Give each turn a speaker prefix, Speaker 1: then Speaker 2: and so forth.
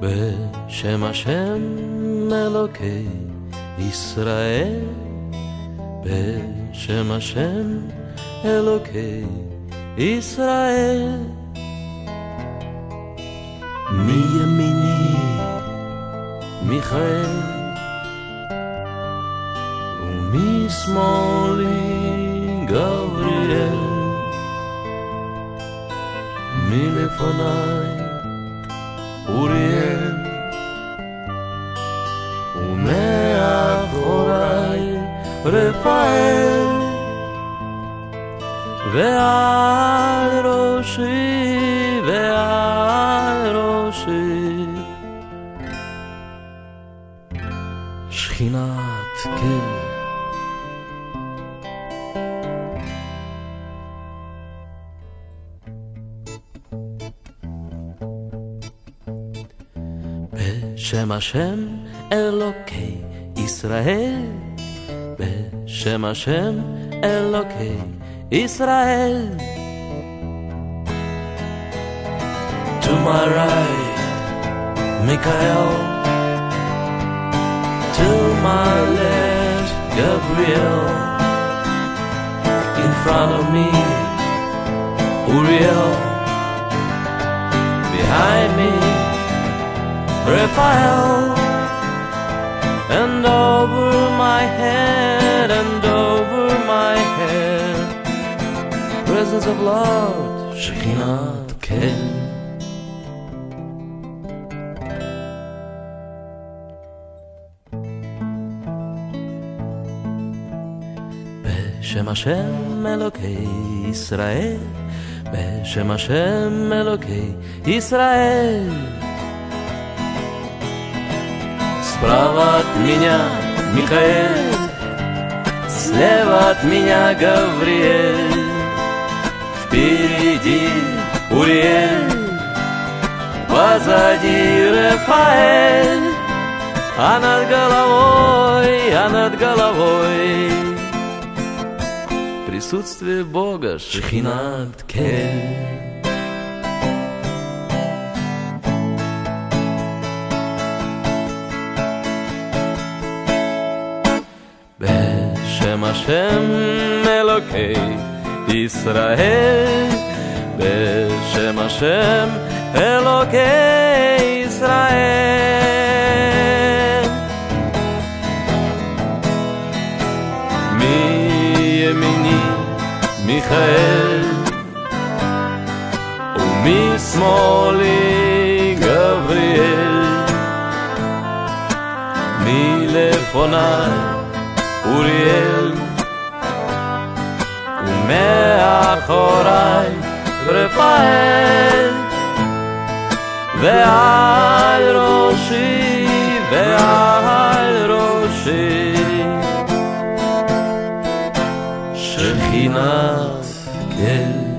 Speaker 1: בשם השם אלוקי ישראל, בשם השם אלוקי ישראל. מימיני מיכאל ומשמאלי גבריאל, מלפניי אוריאל ומאחוריי רפאל, ועל ראשי ועל ראשי שכינת כל. בשם השם אלוקי ישראל, בשם השם אלוקי ישראל. To my right, Michael, to my left, Gabriel, in front of me, Uriel, behind me, Raphael, and over my head, and over my head, presence of Lord, Shekhinat Kel. בשם השם אלוקי ישראל, בשם השם אלוקי ישראל. Справа от меня Михаэль, слева от меня Гавриэль, впереди Уриэль, позади Рафаэль, а над головой присутствие Бога Шехинат Кель. בשם השם אלוקי ישראל, בשם השם אלוקי ישראל. מימיני מיכאל ומשמאלי גבריאל, מלפניי אוריאל ומאחוריי רפאל, ועל ראשי ועל ראשי שכינת כל.